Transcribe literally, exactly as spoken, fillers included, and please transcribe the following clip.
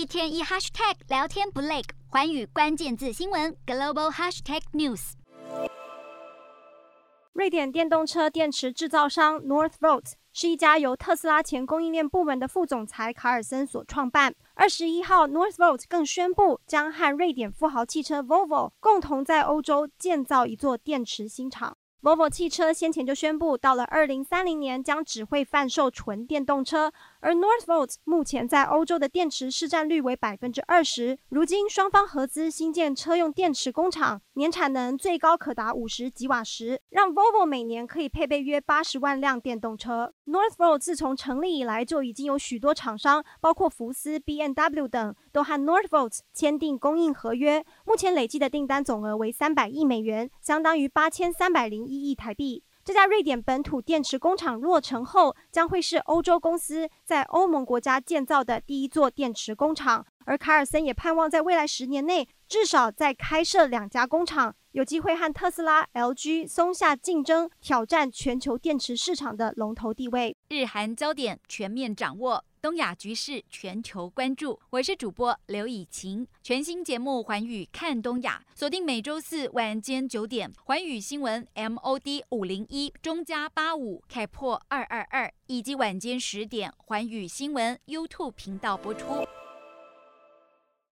天一 hashtag 聊天不累，寰宇關鍵字新聞 global hashtag news。 瑞典電動車電池製造商 Northvolt 是一家由特斯拉前供應鏈部門的副總裁卡爾森所創辦。二十一號 Northvolt 更宣布將和瑞典富豪汽車 Volvo 共同在歐洲建造一座電池新廠。Volvo 汽車先前就宣布，到了二零三零年將只會販售純電動車，而 Northvolt 目前在歐洲的電池市占率為百分之二十。如今雙方合資新建車用電池工廠，年產能最高可達五十吉瓦時，讓 Volvo 每年可以配備約八十萬輛電動車。Northvolt 自從成立以來，就已經有許多廠商，包括福斯、B M W 等，都和 Northvolt 簽訂供應合約。目前累計的訂單總額為三百億美元，相當於八千三百零一億台幣。這家瑞典本土電池工廠落成後，將會是歐洲公司在歐盟國家建造的第一座電池工廠。而卡爾森也盼望在未來十年內，至少再開設兩家工廠，有機會和特斯拉、L G、松下競爭，挑戰全球電池市場的龍頭地位。 日韓焦點全面掌握，東亞局勢全球關注。我是主播劉以晴，全新節目《寰宇看東亞》，鎖定每周四晚間九點，寰宇新聞 M O D 五零一中加八五開破二二二，以及晚間十點寰宇新聞 YouTube 頻道播出。